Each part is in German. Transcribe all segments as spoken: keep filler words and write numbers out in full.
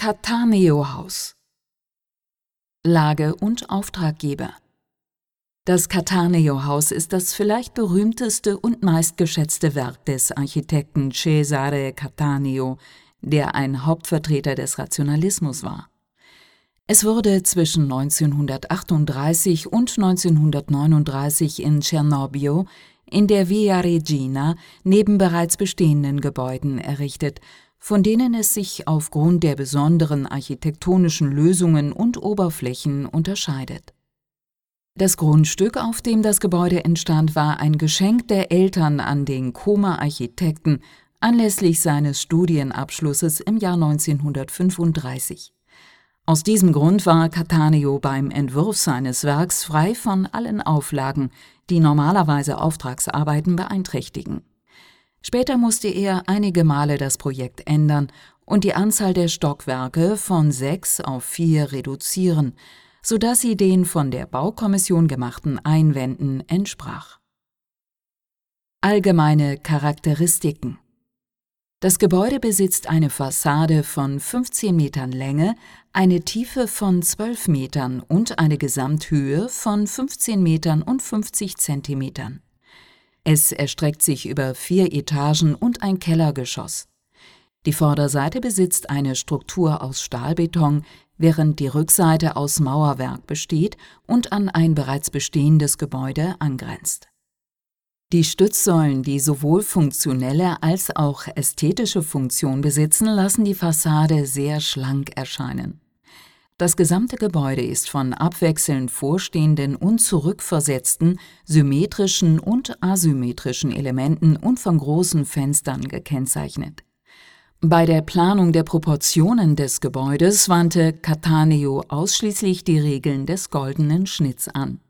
Cattaneo-Haus. Lage und Auftraggeber. Das Cattaneo-Haus ist das vielleicht berühmteste und meistgeschätzte Werk des Architekten Cesare Cattaneo, der ein Hauptvertreter des Rationalismus war. Es wurde zwischen neunzehnhundertachtunddreißig und neunzehnhundertneununddreißig in Cernobbio in der Via Regina neben bereits bestehenden Gebäuden errichtet, von denen es sich aufgrund der besonderen architektonischen Lösungen und Oberflächen unterscheidet. Das Grundstück, auf dem das Gebäude entstand, war ein Geschenk der Eltern an den Comer-Architekten anlässlich seines Studienabschlusses im Jahr neunzehnhundertfünfunddreißig. Aus diesem Grund war Cattaneo beim Entwurf seines Werks frei von allen Auflagen, die normalerweise Auftragsarbeiten beeinträchtigen. Später musste er einige Male das Projekt ändern und die Anzahl der Stockwerke von sechs auf vier reduzieren, sodass sie den von der Baukommission gemachten Einwänden entsprach. Allgemeine Charakteristiken. Das Gebäude besitzt eine Fassade von fünfzehn Metern Länge, eine Tiefe von zwölf Metern und eine Gesamthöhe von fünfzehn Metern und fünfzig Zentimetern. Es erstreckt sich über vier Etagen und ein Kellergeschoss. Die Vorderseite besitzt eine Struktur aus Stahlbeton, während die Rückseite aus Mauerwerk besteht und an ein bereits bestehendes Gebäude angrenzt. Die Stützsäulen, die sowohl funktionelle als auch ästhetische Funktion besitzen, lassen die Fassade sehr schlank erscheinen. Das gesamte Gebäude ist von abwechselnd vorstehenden und zurückversetzten, symmetrischen und asymmetrischen Elementen und von großen Fenstern gekennzeichnet. Bei der Planung der Proportionen des Gebäudes wandte Cattaneo ausschließlich die Regeln des goldenen Schnitts an.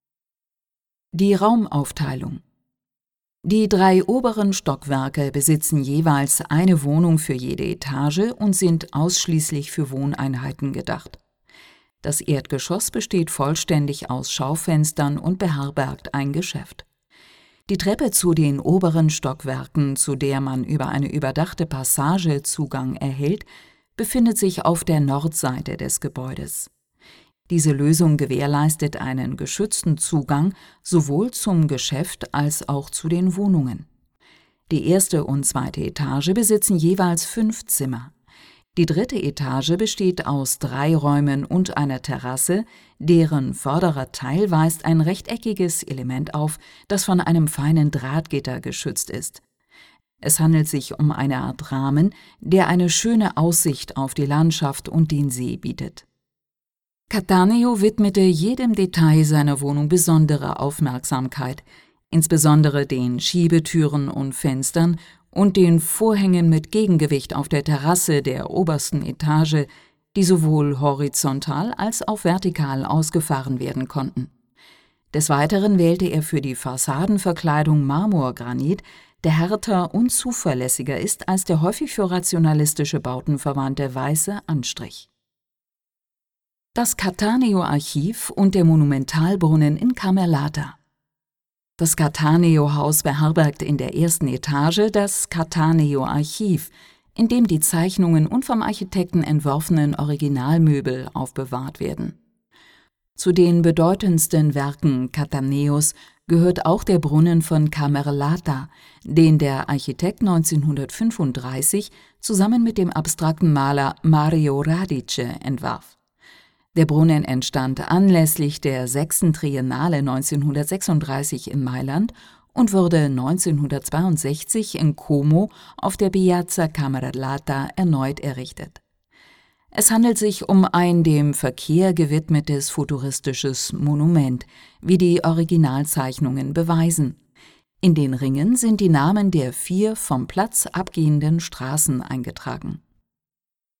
Die Raumaufteilung. Die drei oberen Stockwerke besitzen jeweils eine Wohnung für jede Etage und sind ausschließlich für Wohneinheiten gedacht. Das Erdgeschoss besteht vollständig aus Schaufenstern und beherbergt ein Geschäft. Die Treppe zu den oberen Stockwerken, zu der man über eine überdachte Passage Zugang erhält, befindet sich auf der Nordseite des Gebäudes. Diese Lösung gewährleistet einen geschützten Zugang sowohl zum Geschäft als auch zu den Wohnungen. Die erste und zweite Etage besitzen jeweils fünf Zimmer. Die dritte Etage besteht aus drei Räumen und einer Terrasse, deren vorderer Teil weist ein rechteckiges Element auf, das von einem feinen Drahtgitter geschützt ist. Es handelt sich um eine Art Rahmen, der eine schöne Aussicht auf die Landschaft und den See bietet. Cattaneo widmete jedem Detail seiner Wohnung besondere Aufmerksamkeit, insbesondere den Schiebetüren und Fenstern und den Vorhängen mit Gegengewicht auf der Terrasse der obersten Etage, die sowohl horizontal als auch vertikal ausgefahren werden konnten. Des Weiteren wählte er für die Fassadenverkleidung Marmorgranit, der härter und zuverlässiger ist als der häufig für rationalistische Bauten verwandte weiße Anstrich. Das Cattaneo-Archiv und der Monumentalbrunnen in Camerlata. Das Cattaneo-Haus beherbergt in der ersten Etage das Cattaneo-Archiv, in dem die Zeichnungen und vom Architekten entworfenen Originalmöbel aufbewahrt werden. Zu den bedeutendsten Werken Cattaneos gehört auch der Brunnen von Camerlata, den der Architekt neunzehnhundertfünfunddreißig zusammen mit dem abstrakten Maler Mario Radice entwarf. Der Brunnen entstand anlässlich der sechsten Triennale neunzehnhundertsechsunddreißig in Mailand und wurde neunzehnhundertzweiundsechzig in Como auf der Piazza Camerlata erneut errichtet. Es handelt sich um ein dem Verkehr gewidmetes futuristisches Monument, wie die Originalzeichnungen beweisen. In den Ringen sind die Namen der vier vom Platz abgehenden Straßen eingetragen.